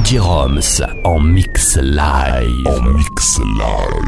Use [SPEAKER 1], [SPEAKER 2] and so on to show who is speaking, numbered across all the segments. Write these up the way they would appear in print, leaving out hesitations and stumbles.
[SPEAKER 1] J-Roms en mix live.
[SPEAKER 2] En mix live.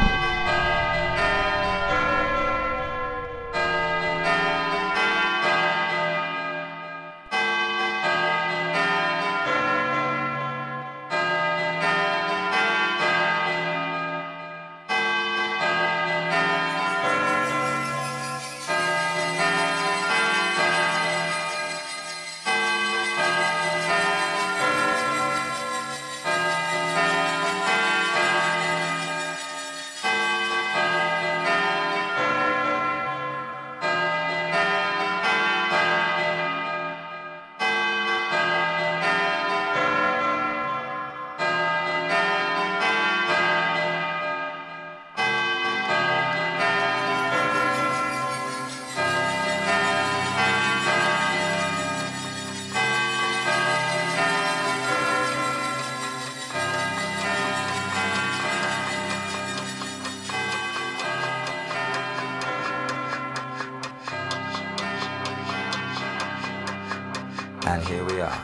[SPEAKER 3] And here we are,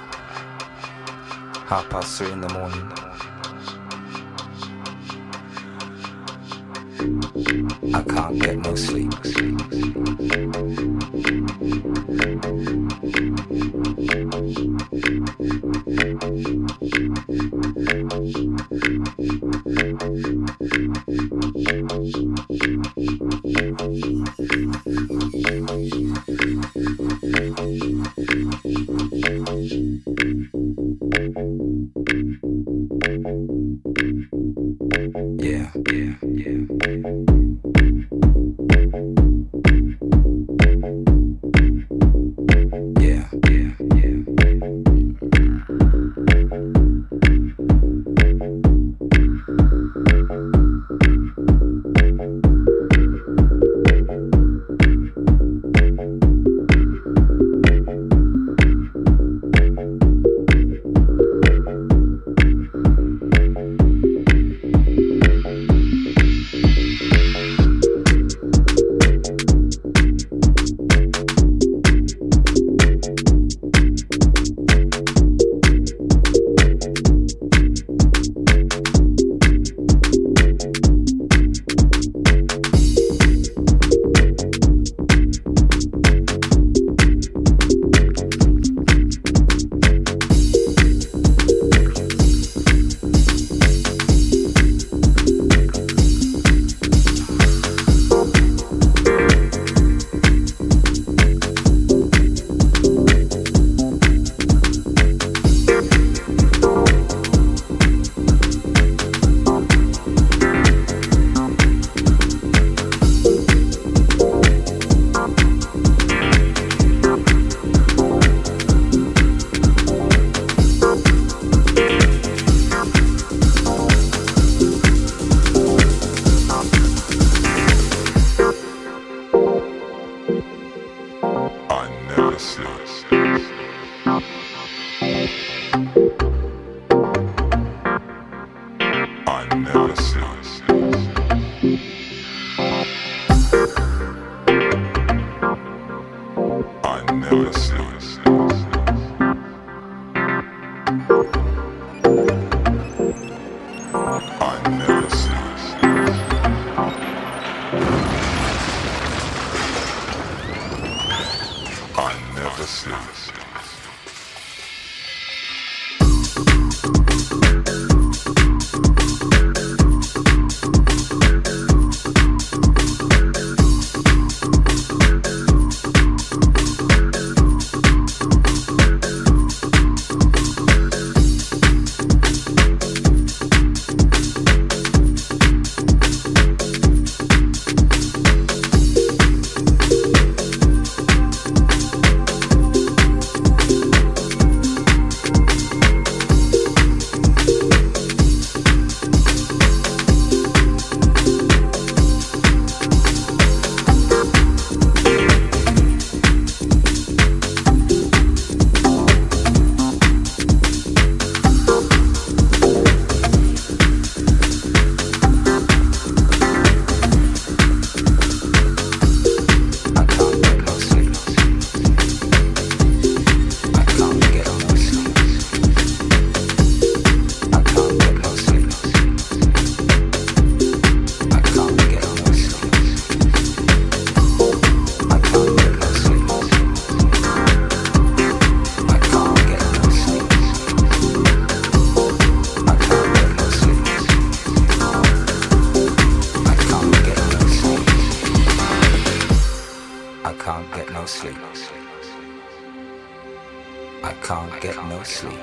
[SPEAKER 3] 3:30 in the morning. I can't get no sleep. Yeah. can't get no sleep.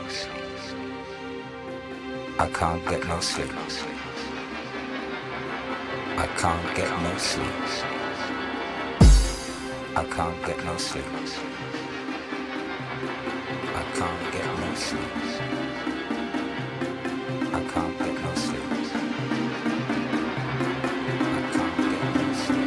[SPEAKER 3] I can't get no sleep. I can't get no sleep. I can't get no sleep. I can't get no sleep. I can't get no sleep. I can't get no sleep.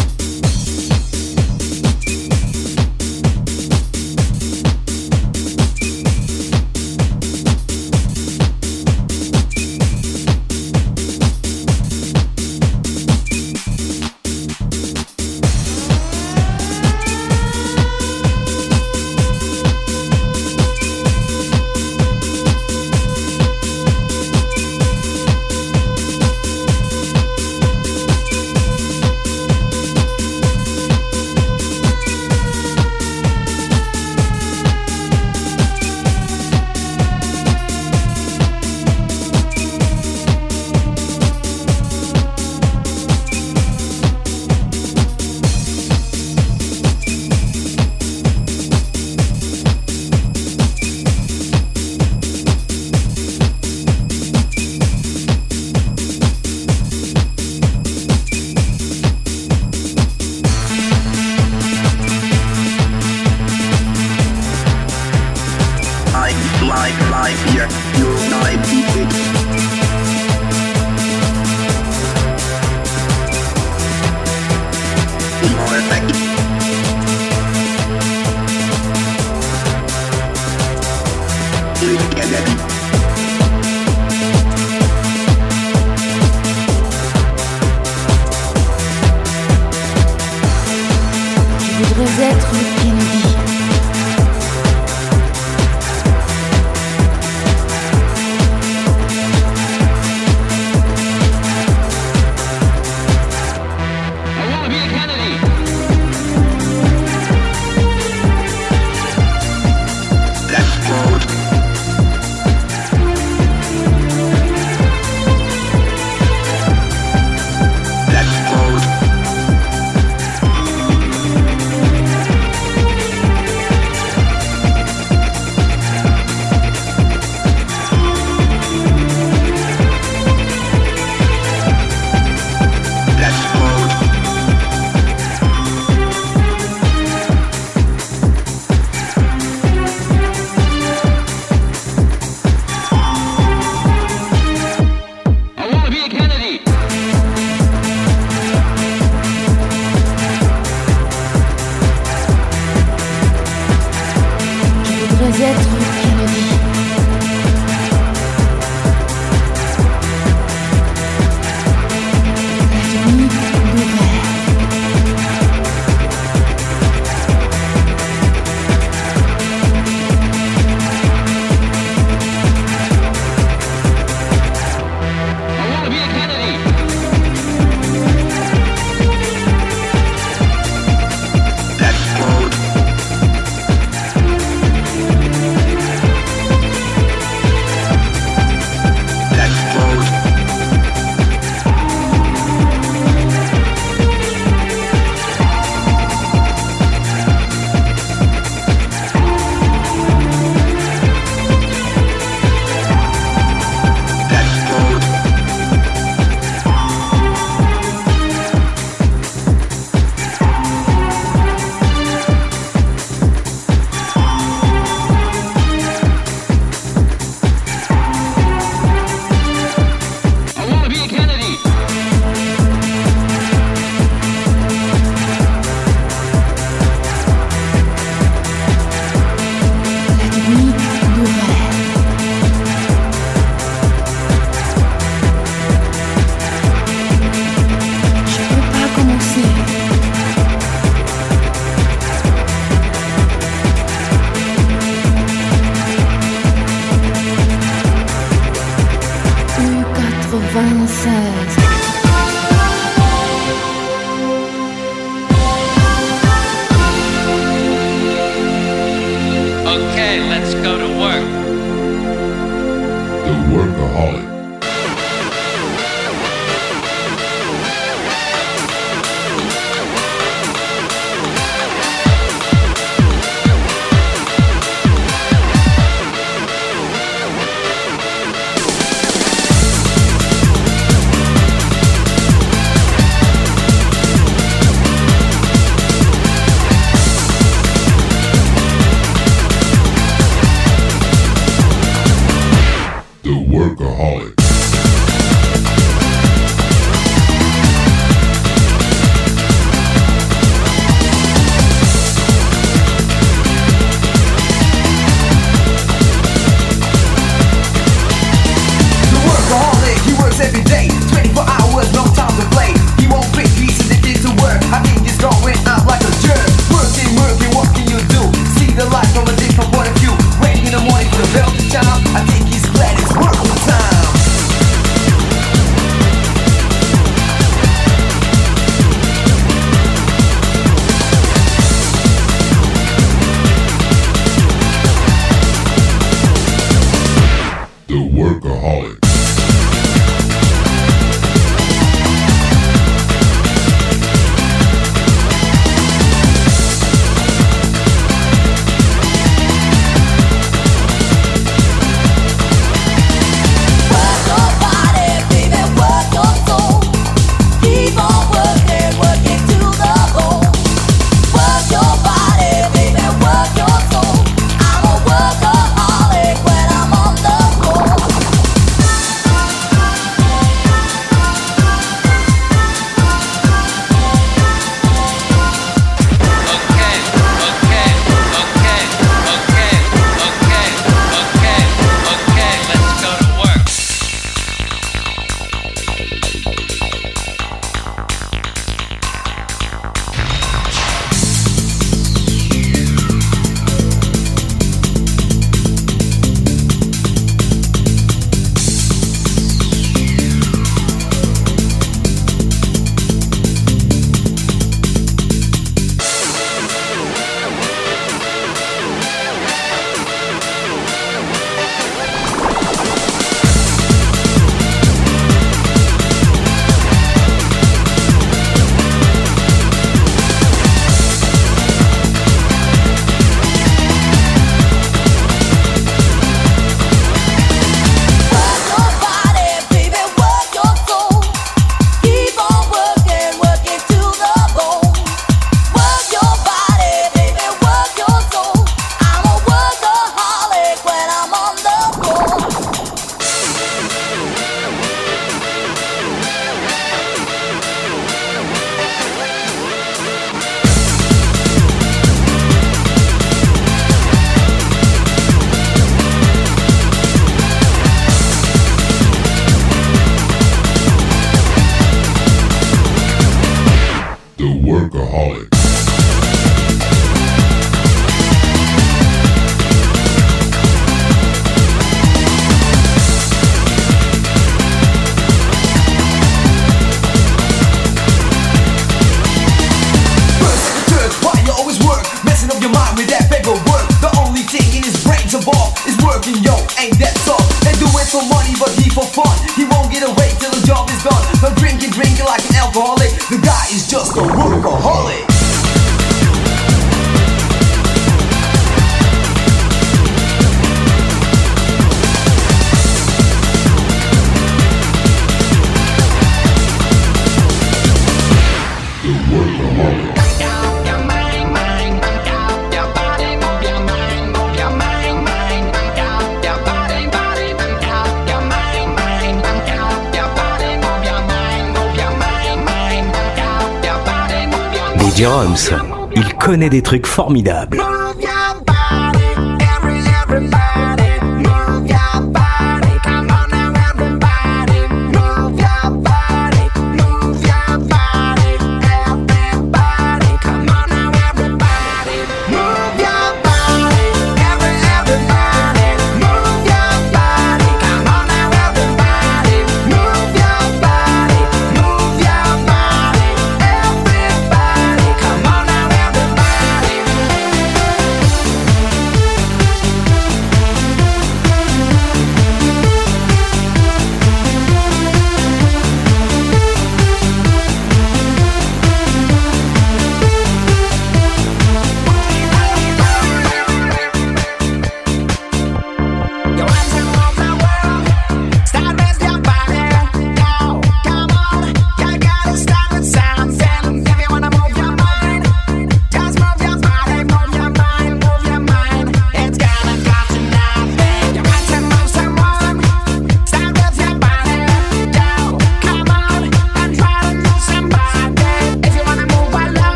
[SPEAKER 4] voudrais être Kennedy.
[SPEAKER 5] Okay, let's go to work.
[SPEAKER 1] The Workaholic. The Workaholic.
[SPEAKER 4] workaholic.
[SPEAKER 6] Ain't that so? They do it for money, but he for fun. He won't get away till the job is done. But drinking like an alcoholic. The guy is just a workaholic.
[SPEAKER 1] Jeroms, il connaît des trucs formidables.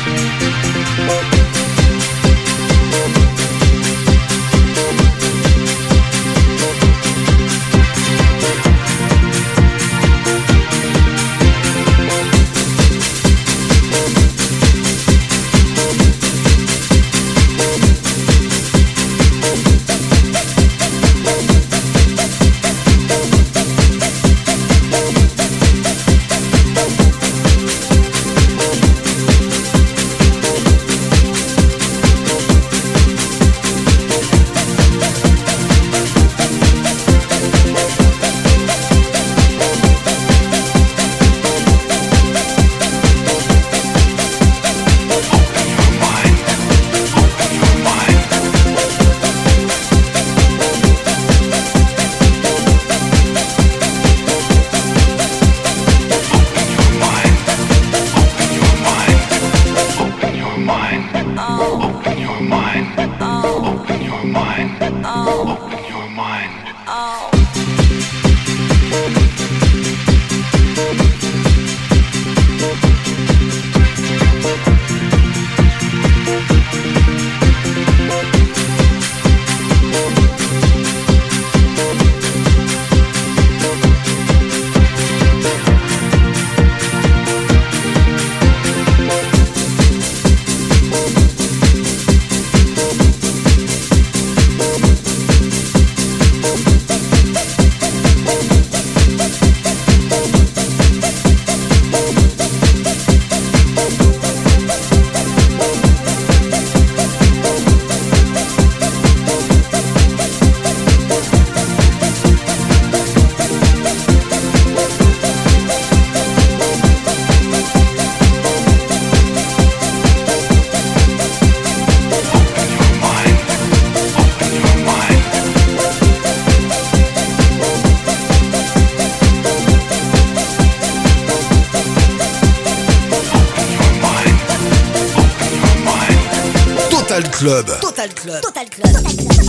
[SPEAKER 4] Club.
[SPEAKER 7] Total Club. Total Club. Total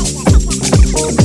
[SPEAKER 7] Club.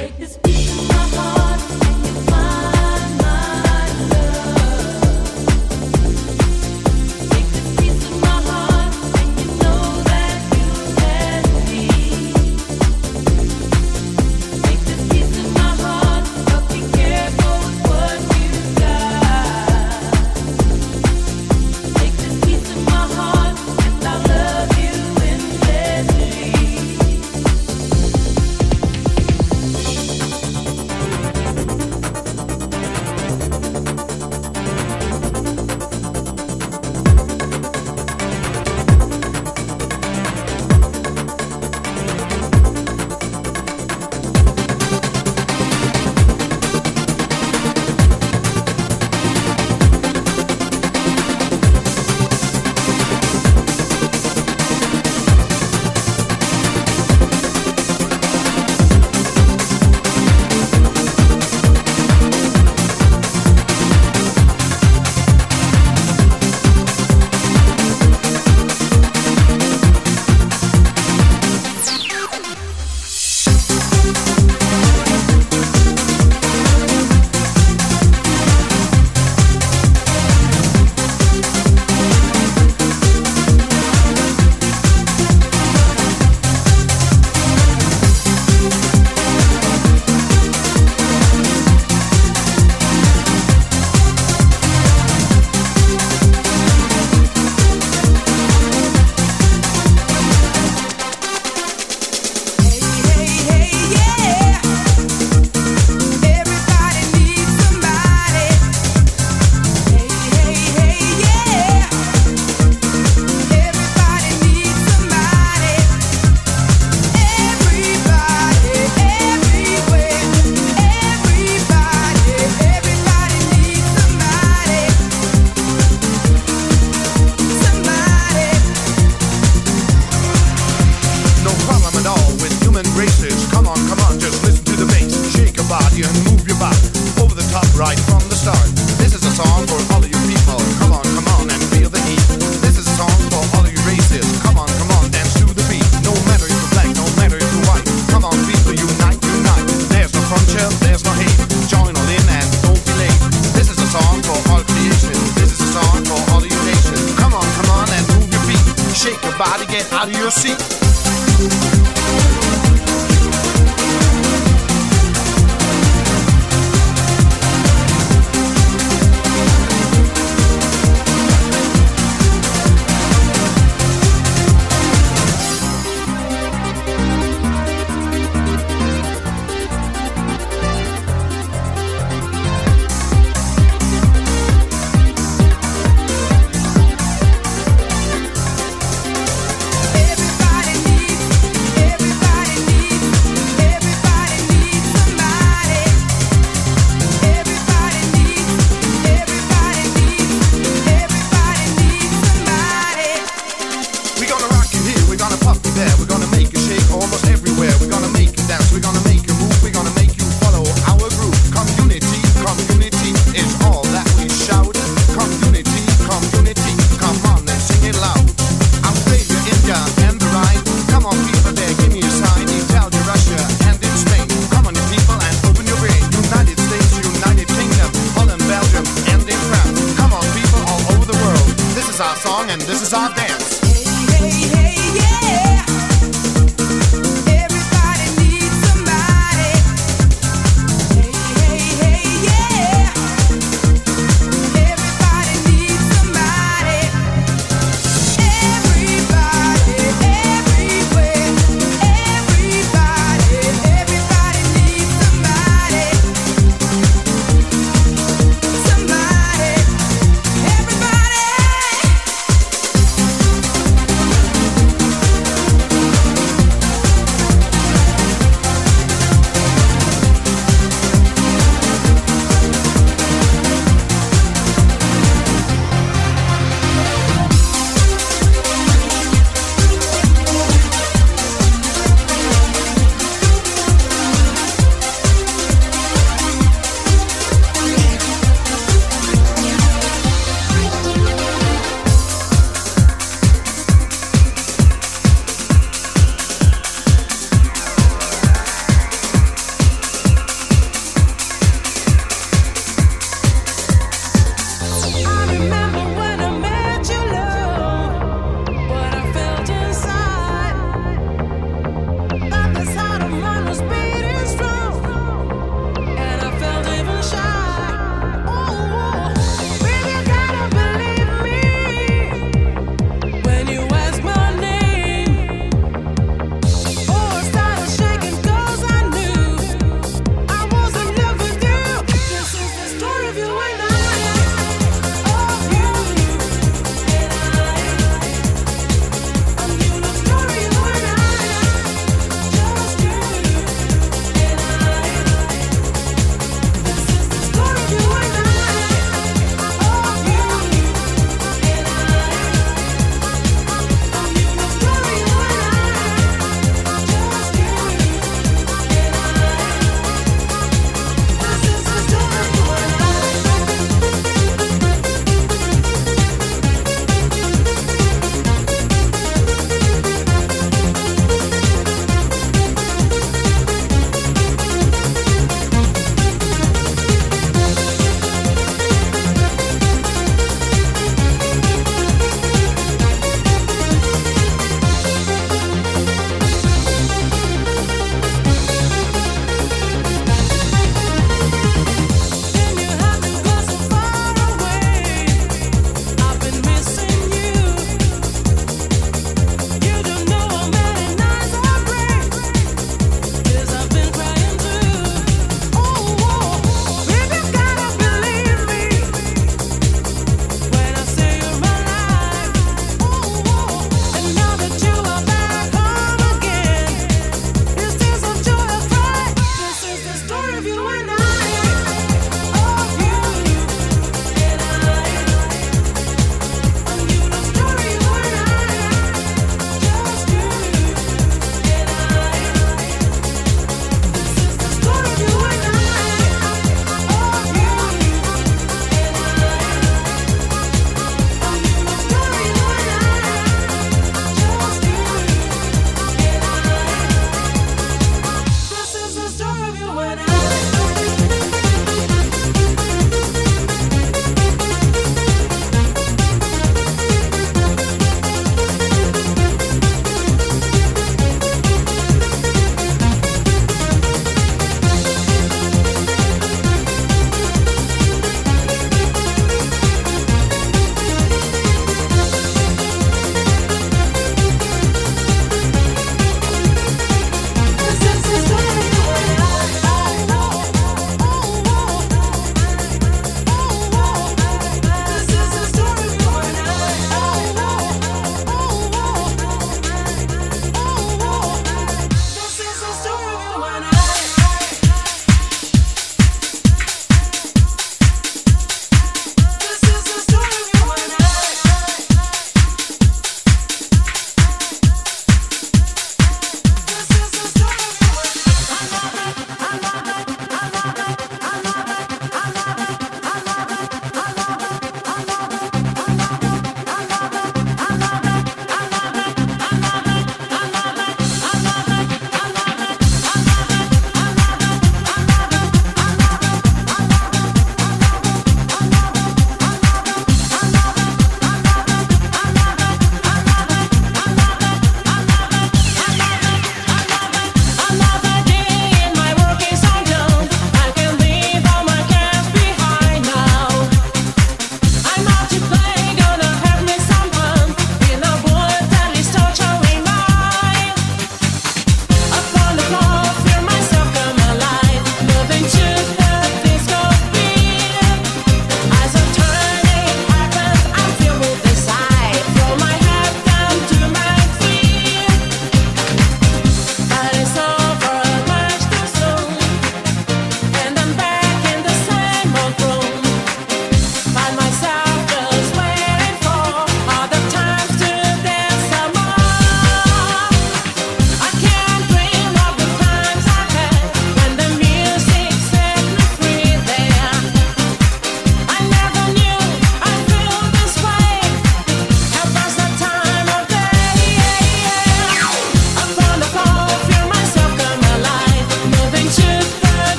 [SPEAKER 4] out of your seat.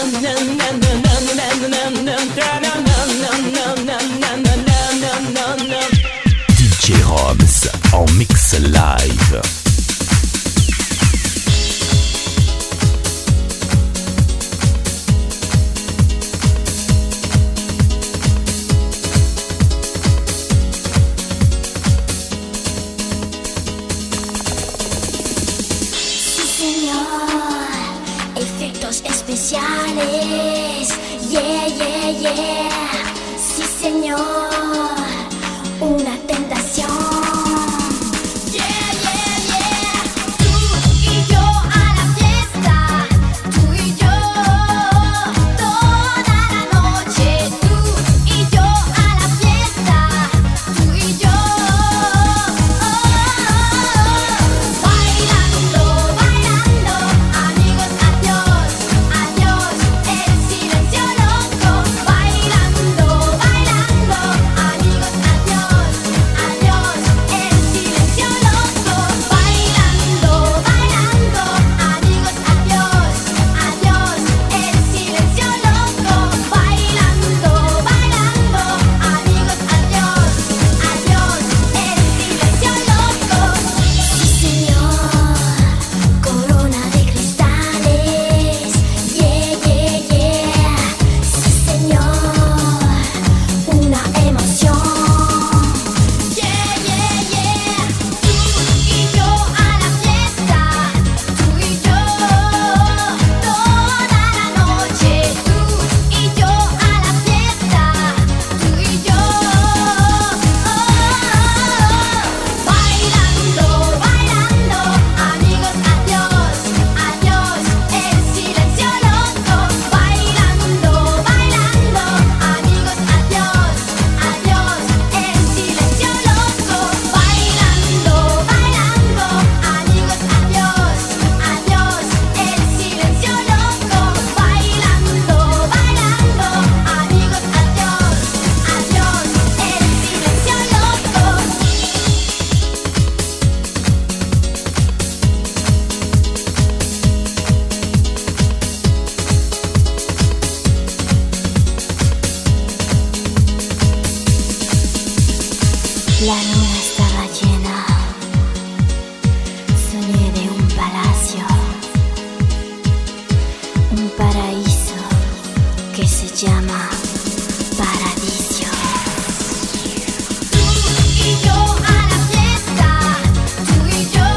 [SPEAKER 1] DJ Roms en mix live.
[SPEAKER 7] Especiales, yeah, yeah, yeah, sí señor, una tentación. Yeah, yeah, yeah, tú y yo a la fiesta, tú y yo toda la noche, tú y yo a la fiesta, tú y yo bailando, bailando, amigos, adiós. Adiós, el silencio loco, bailando, bailando, amigos, adiós, adiós, el silencio loco, bailando, bailando, amigos, adiós, adiós, el silencio loco, bailando, bailando, amigos, adiós, adiós, el silencio loco. Sí, señor, corona de cristales, yeah, yeah, yeah, sí señor, una emoción, yeah, yeah, yeah, tú y yo a la fiesta, tú y yo toda la noche, tú y yo a la fiesta, tú y yo bailando, bailando, amigos, adiós, adiós, el silencio loco, bailando, bailando, amigos, adiós, adiós, el silencio loco, bailando, bailando, amigos, adiós, adiós, el silencio loco, bailando, bailando, amigos, adiós, adiós, el silencio loco. La luna estaba llena, soñé de un palacio, un paraíso que se llama Paradiso. Tú y yo a la fiesta, tú y yo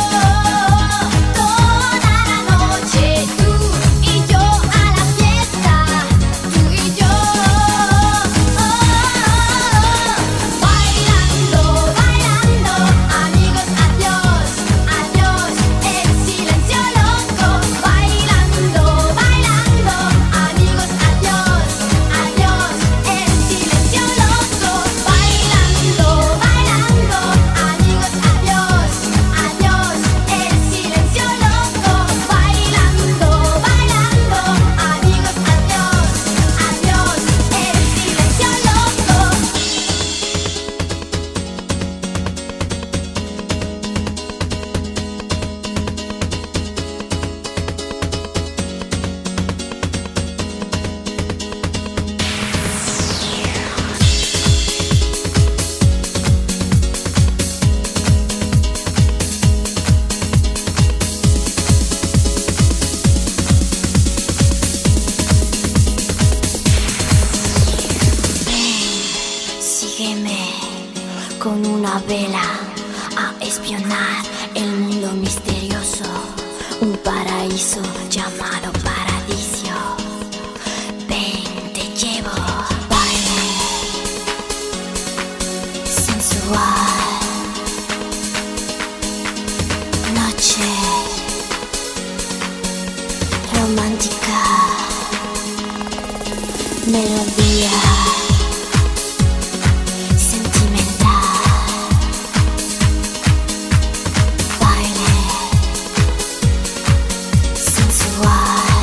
[SPEAKER 7] toda la noche, tú y yo a la fiesta, tú y yo bailando, bailando, amigos, adiós, adiós, el silencio loco, bailando, bailando, amigos, adiós, adiós, el silencio loco, bailando, bailando, amigos, adiós, adiós, el silencio loco, bailando, bailando, amigos, adiós, adiós, el silencio loco. Sígueme con una vela a espionar el mundo misterioso, un paraíso llamado Paradiso. Ven, te llevo, baile sensual, noche romántica, melodía sentimental, baile sensual.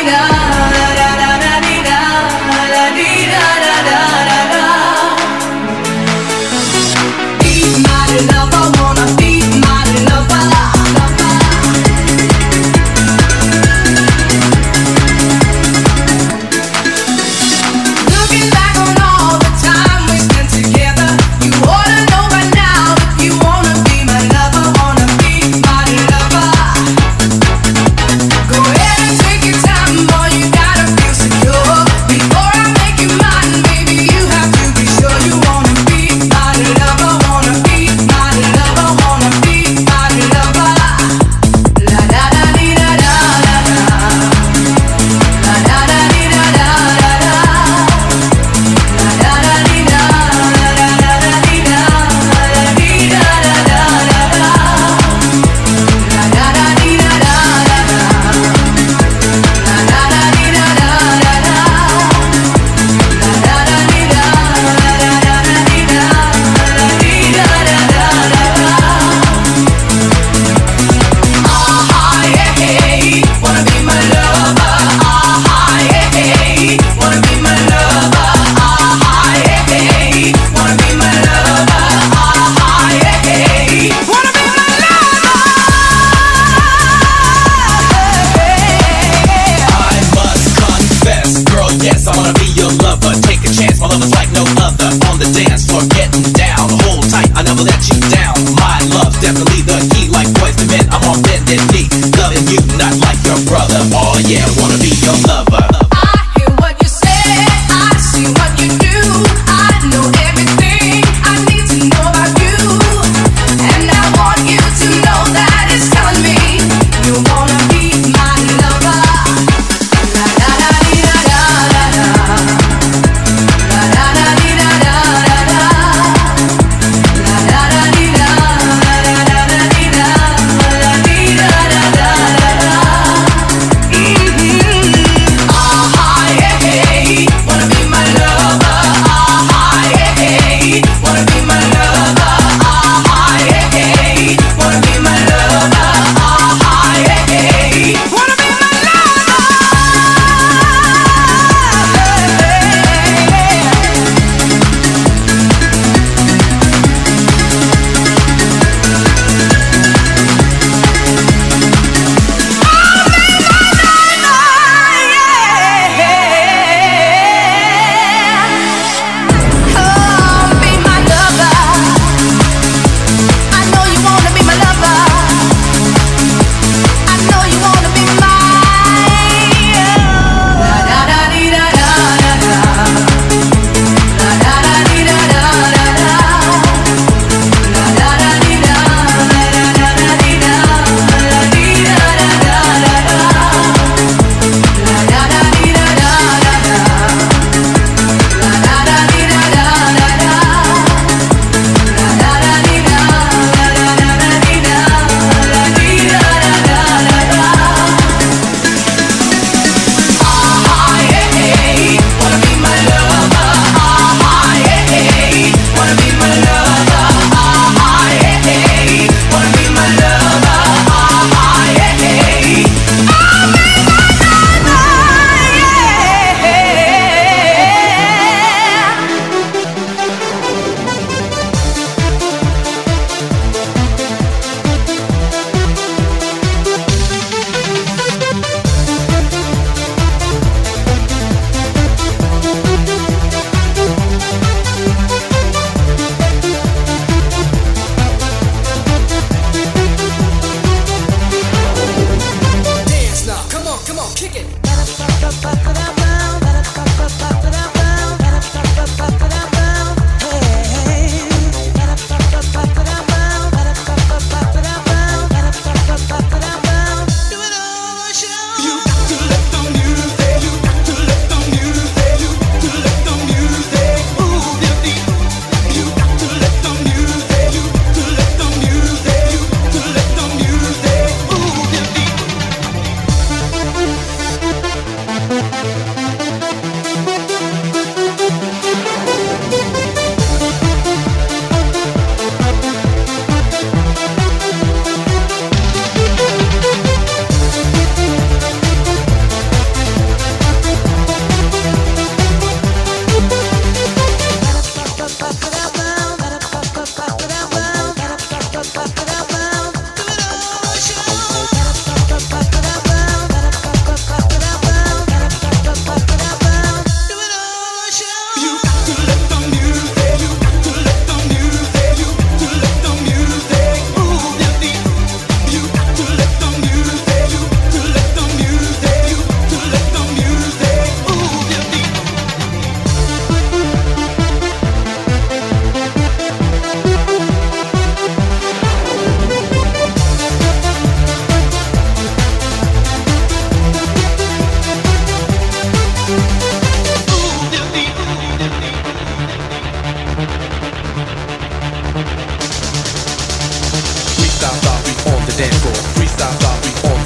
[SPEAKER 8] Mm-hmm.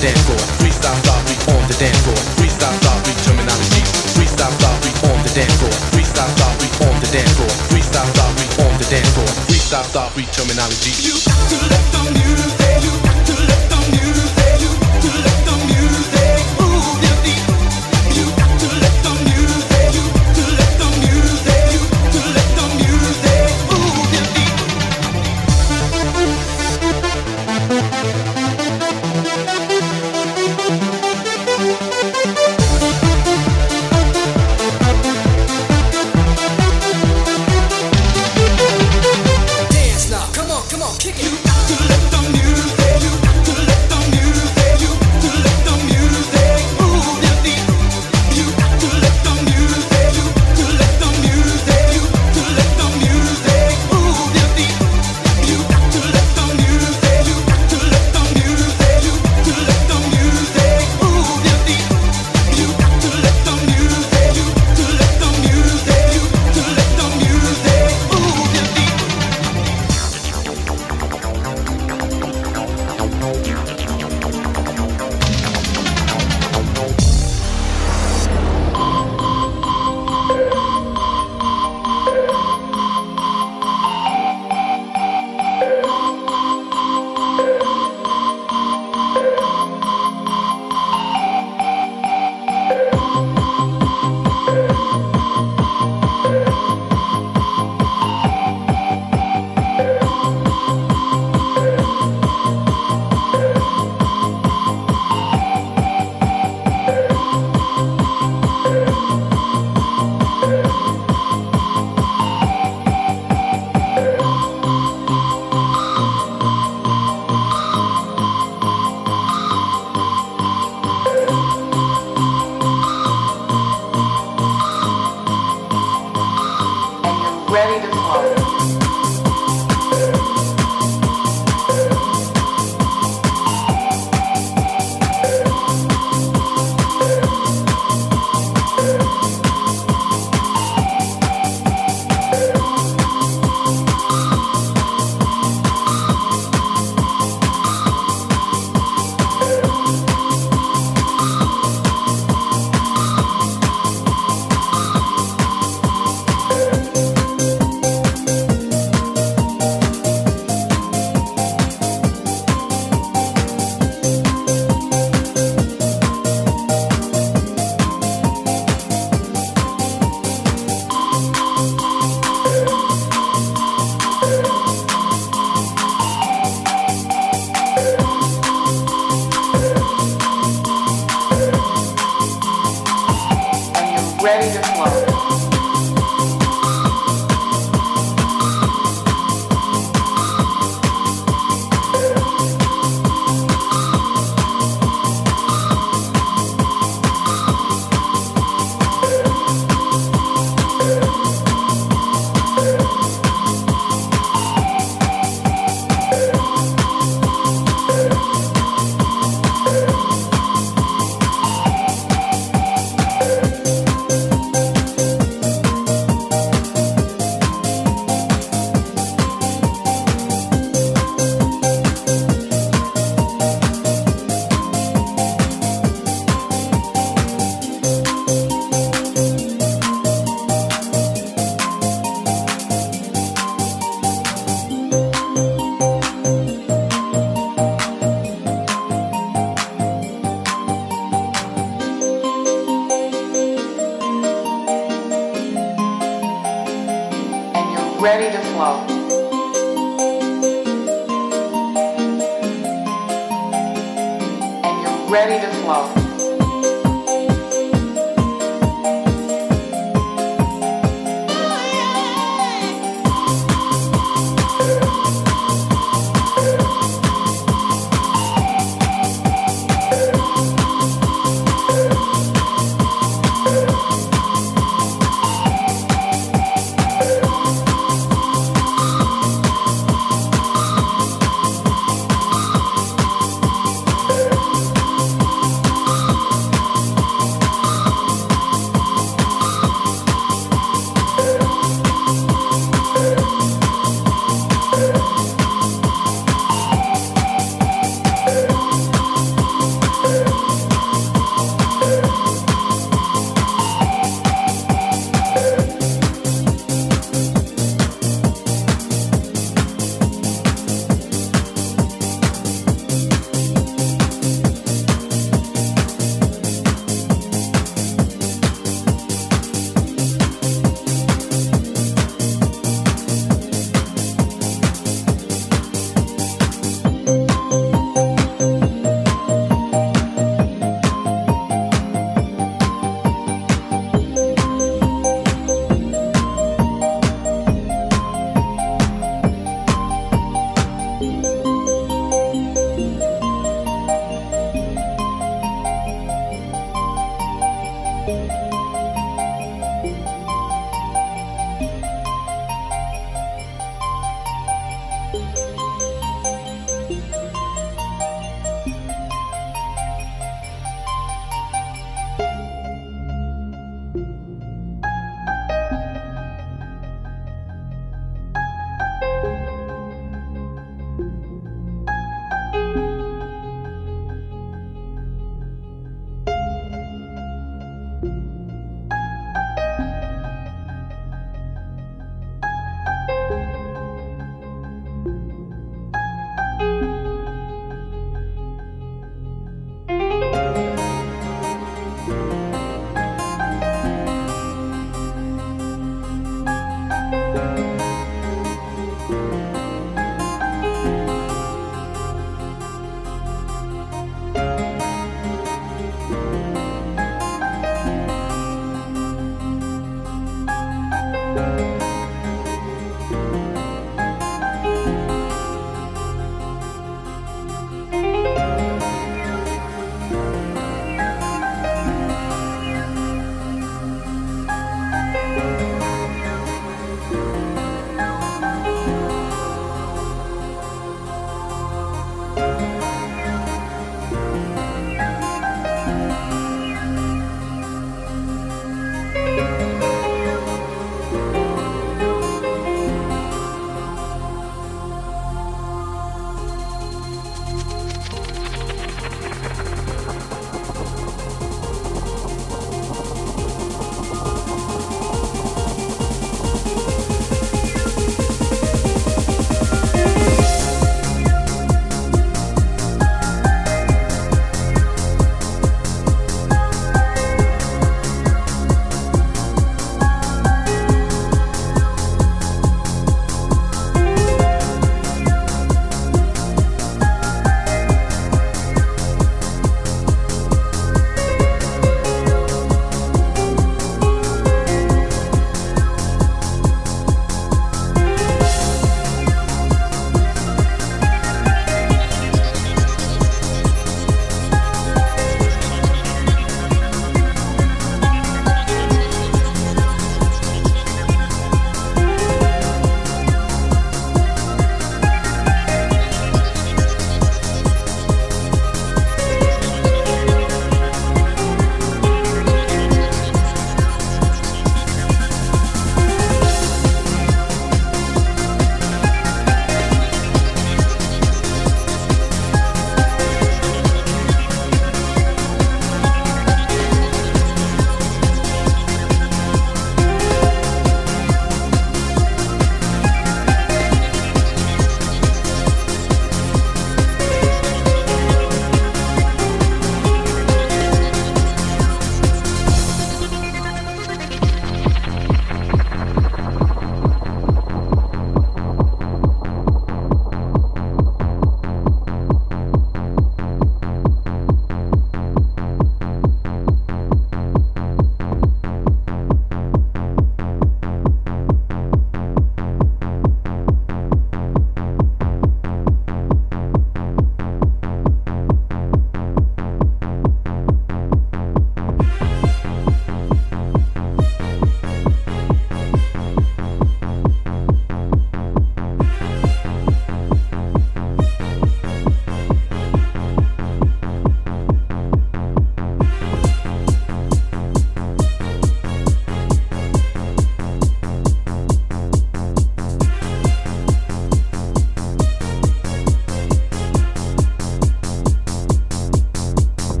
[SPEAKER 1] dance floor. Freestyle start, we on the dance floor. Freestyle start, we terminology. Freestyle start, we on the dance floor. Freestyle start, we on the dance floor. Freestyle start, we on the dance floor. Freestyle start, we terminology. You got to let the music, you got to let the music, you got to let the music move your feet. You got to let the music, you got to let the music, you got to let the music move your feet. Dance now, come on, kick it. You got to let the music, you got to let the music, you got to let the music move your feet. You got to let the music, you got to let the music, you got to let the music move your feet. You got to let the music, you got to let the music, you got to let the music move your feet. You got to let the music, you got to let the music, you got to let the music move your feet.
[SPEAKER 2] Ready to flow. Ready to flow. Ready to flow. And you're ready to flow.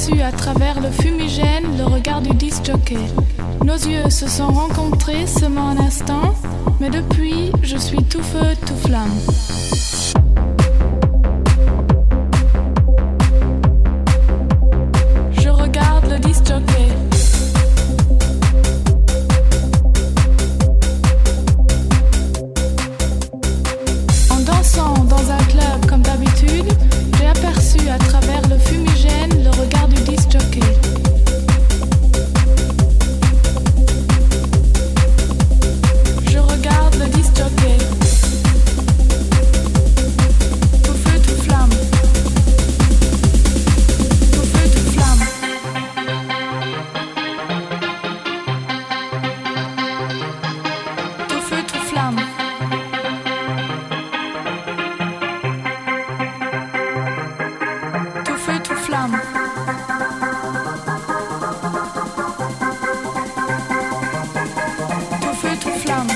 [SPEAKER 8] aperçu à travers le fumigène le regard du disc-jockey. Nos yeux se sont rencontrés seulement un instant, mais depuis, je suis tout feu, tout flamme. Je regarde le disc-jockey. En dansant dans un club comme d'habitude, j'ai aperçu à travers le fumigène le regard du disc-jockey. Je regarde le disc-jockey. Tout feu, tout flamme. Tout feu, tout flamme. Tout feu, tout flamme. Tout feu, tout flamme. Tout feu, tout flamme.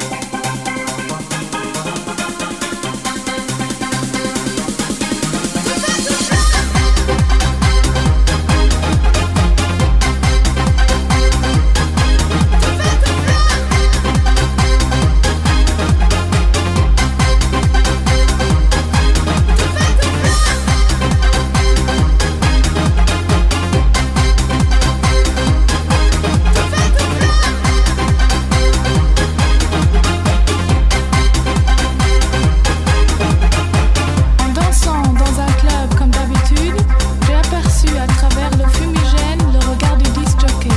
[SPEAKER 8] En dansant dans un club comme d'habitude, j'ai aperçu à travers le fumigène le regard du disc-jockey.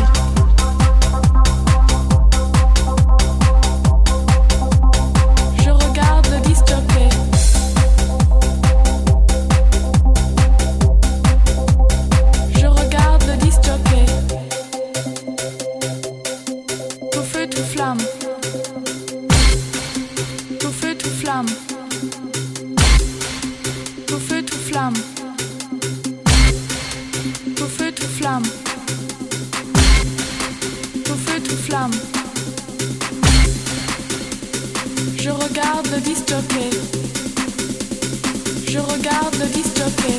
[SPEAKER 8] Je regarde le disc-jockey. Je regarde le disc-jockey. Tout feu, tout flamme. Tout feu, tout flamme. Tout feu, tout flamme. Tout feu, tout flamme. Tout feu, tout flamme. Je regarde le disc-jockey. Je regarde le disc-jockey.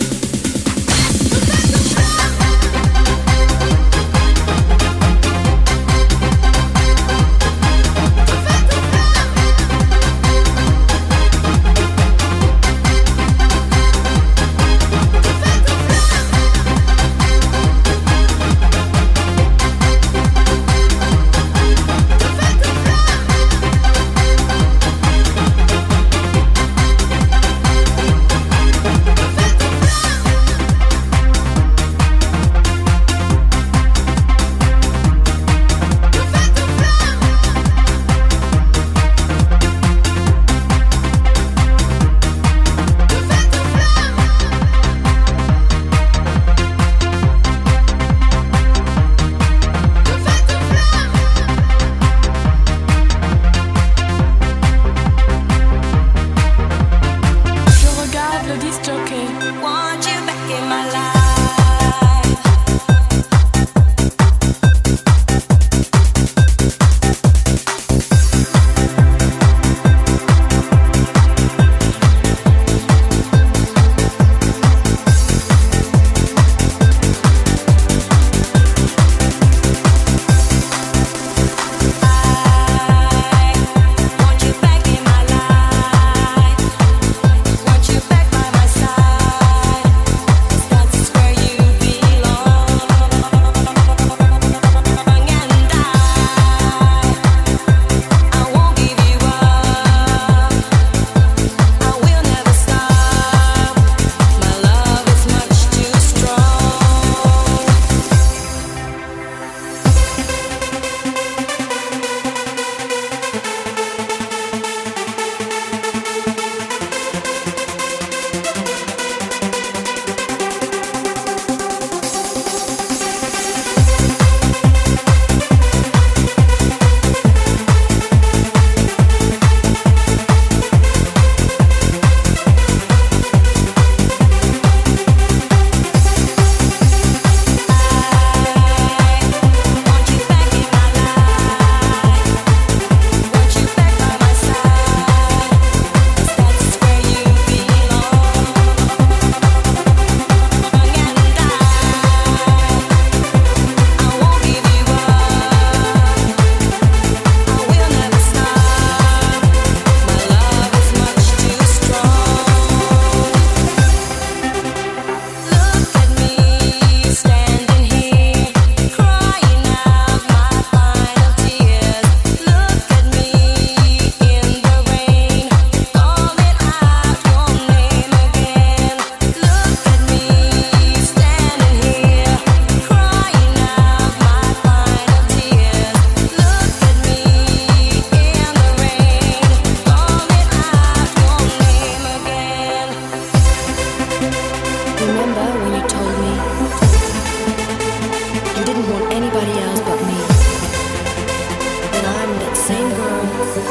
[SPEAKER 9] same girl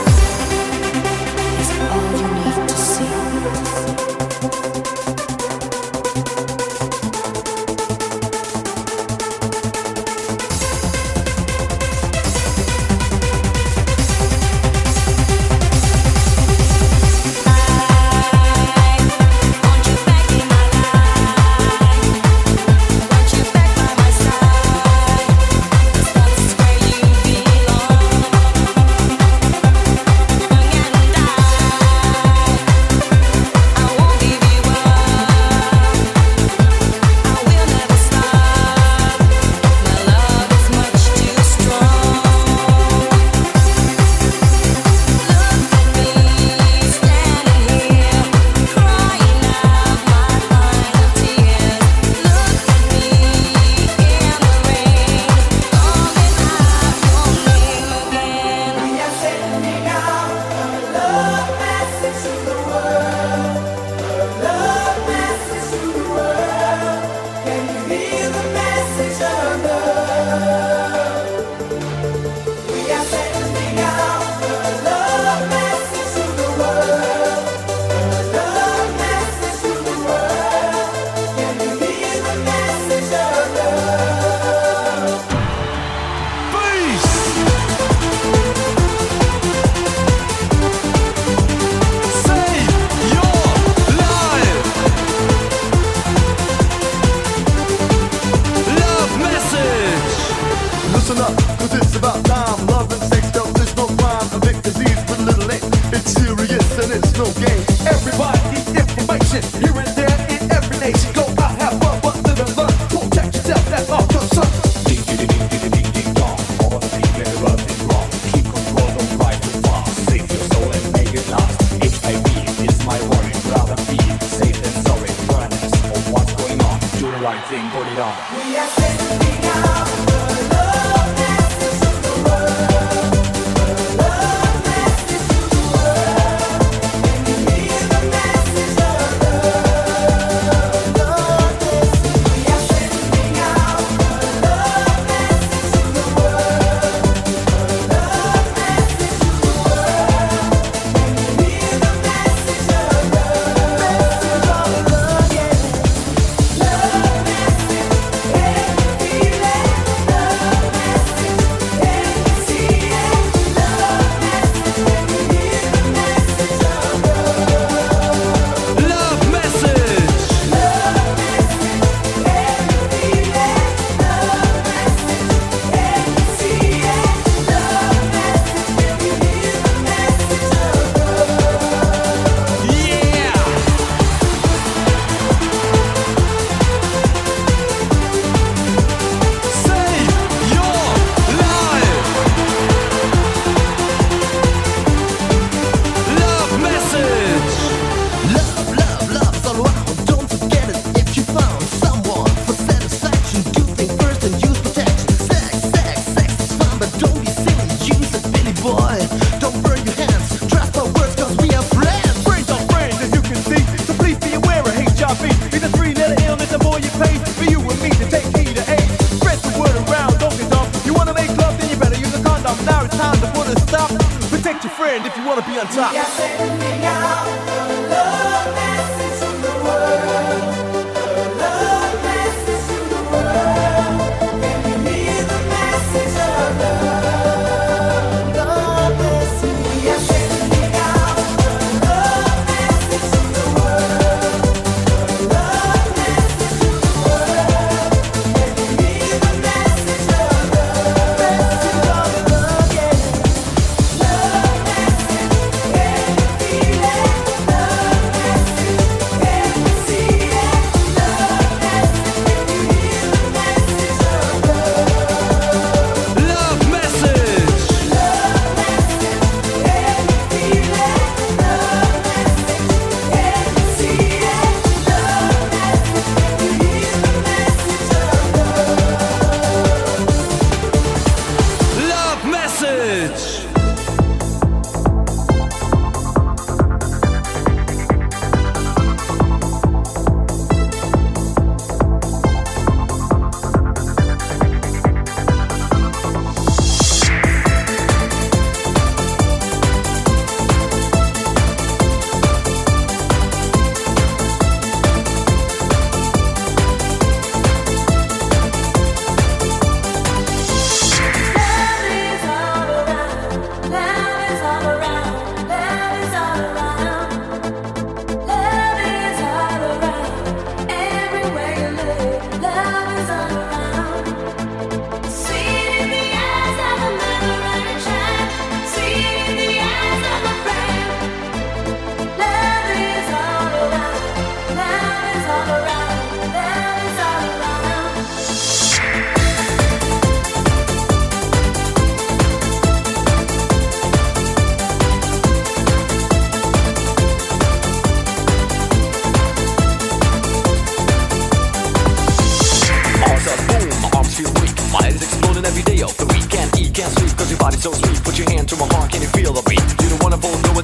[SPEAKER 9] is all you need to see.
[SPEAKER 10] Listen up, cause it's about time. Love and sex, though there's no crime. A big disease with little X. It's serious and it's no game. Everybody needs information. Here and there in every nation. Go out, have fun, but live and learn. Protect yourself, that's our concern.
[SPEAKER 11] Ding, ding, ding, ding, ding, ding, dong. All the people in the world is wrong. Keep control, don't fight too fast. Save your soul and make it last. HIV is my warning. Rather be safe than sorry. Awareness of what's going on. Do the right thing, put it on.
[SPEAKER 1] We are sending out the love message to the world. The love message to the world. Can you hear the message of love? Love message. We are sending out the love message to the world. The love message to the world. Can you hear the message of love? Message of love, yeah. Love message. Can you feel it? Love message. Can you see it? Love message. Can you hear the message of love?
[SPEAKER 4] Love message.
[SPEAKER 1] Love message. Can you feel it? Love message. Can you see it? Love message. Can you hear the message of love?
[SPEAKER 4] Yeah. Say your life. Love message.
[SPEAKER 10] Love, love, love's all around. Don't forget it if you found someone for satisfaction. Do think first and use protection. Sex, sex, sex is fun, but don't be silly. Use it, Billy boy. Don't burn your hands. Trust my words, cause we are friends.
[SPEAKER 12] Friends are friends, as you can see. So please be aware of HIV. It's a three-letter illness, the more you pay for you and me to take heed of AIDS. Spread the word around, don't get dumb. You wanna make love, then you better use a condom. Now it's time to put a stop. Protect your friend if you wanna be on top.
[SPEAKER 1] We are sending out the love message to the world. The love message to the world. Can you hear the message of love? Love message. We are sending out the love message to the world. The love message to the world. Can you hear the message of love? Message of love, yeah. Love message. Can you feel it? Love message.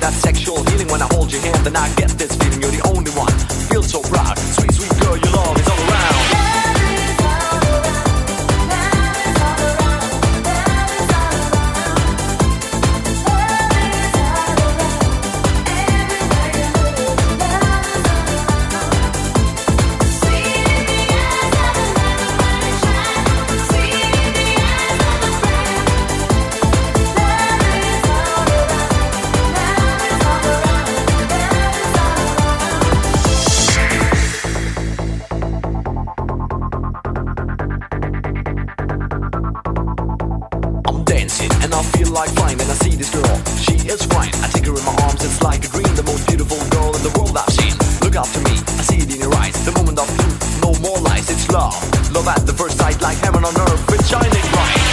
[SPEAKER 13] that sexual healing when I hold your hand, then I get this feeling you're the only one. Feel so proud, sweet, sweet girl, your love is all around. Like fine, and I see this girl, she is fine. I take her in my arms, it's like a dream, the most beautiful girl in the world I've seen. Look after me, I see it in your eyes, the moment of truth, no more lies, it's love. Love at the first sight, like heaven on earth, with shining bright.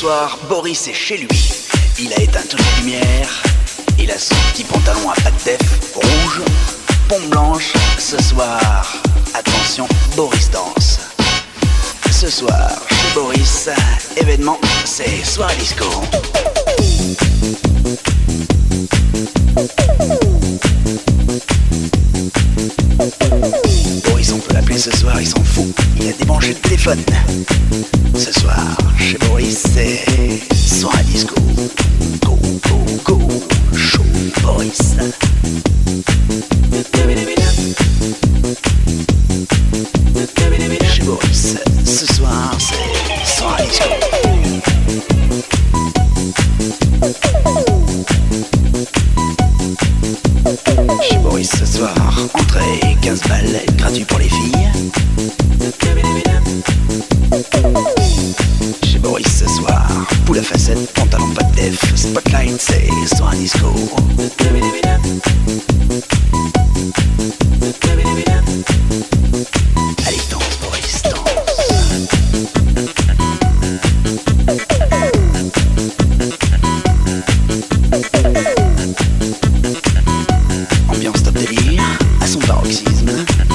[SPEAKER 14] soir, Boris est chez lui. Il a éteint toutes les lumières. Il a son petit pantalon à pattes def rouge, pompe blanche. Ce soir, attention, Boris danse. Ce soir, chez Boris, événement, c'est soirée disco. Boris, on peut l'appeler ce soir, il s'en fout. Il a débranché le téléphone. Ce soir, chez Boris, c'est soirée disco. Go, go, go, show Boris. Chez Boris, ce soir, c'est soirée disco. Chez Boris ce soir, entrée 15 balles, gratuit pour les filles. Chez Boris ce soir, poule à facettes, pantalon pas de def, spotlight, c'est soir disco. Allez, danse Boris, danse. Ambiance top délire, à son paroxysme.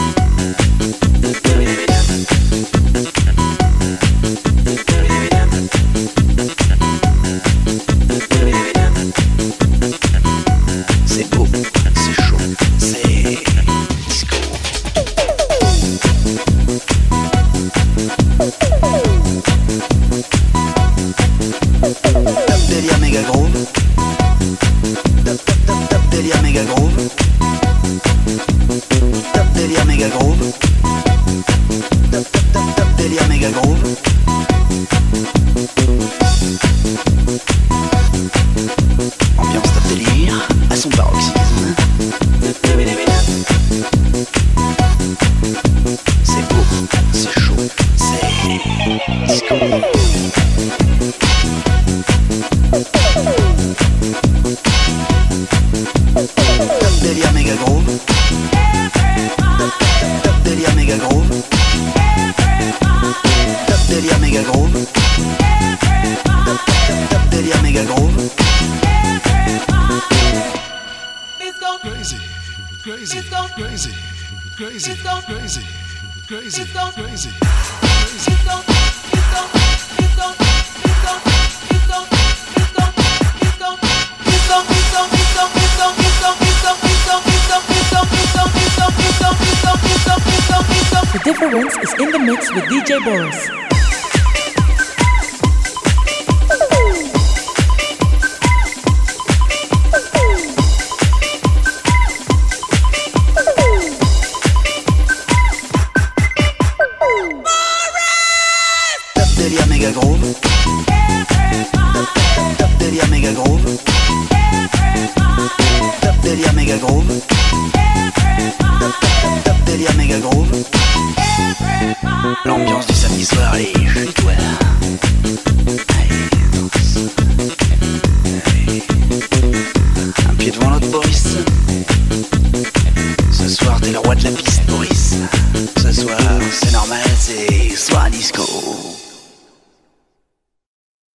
[SPEAKER 14] C'est beau, c'est chaud, c'est disco. Top délire méga groove. Top délire méga groove. Top délire méga groove. Top délire méga groove. Ambiance top délire à son paroxysme. C'est beau, c'est chaud, c'est disco. Top délire méga groove. Top délire méga groove. Top délire méga groove. Top délire méga groove.
[SPEAKER 15] Crazy, crazy, crazy, crazy, crazy, crazy, crazy.
[SPEAKER 16] The difference is in the mix with DJ Boris.
[SPEAKER 14] Top délire méga groove. Top délire méga groove. Top délire méga groove. Top délire méga groove. L'ambiance du samedi soir, les jeux toi. Allez, danse. Allez. Un pied devant l'autre, Boris. Ce soir, t'es le roi de la piste, Boris. Ce soir, c'est normal, c'est soir disco.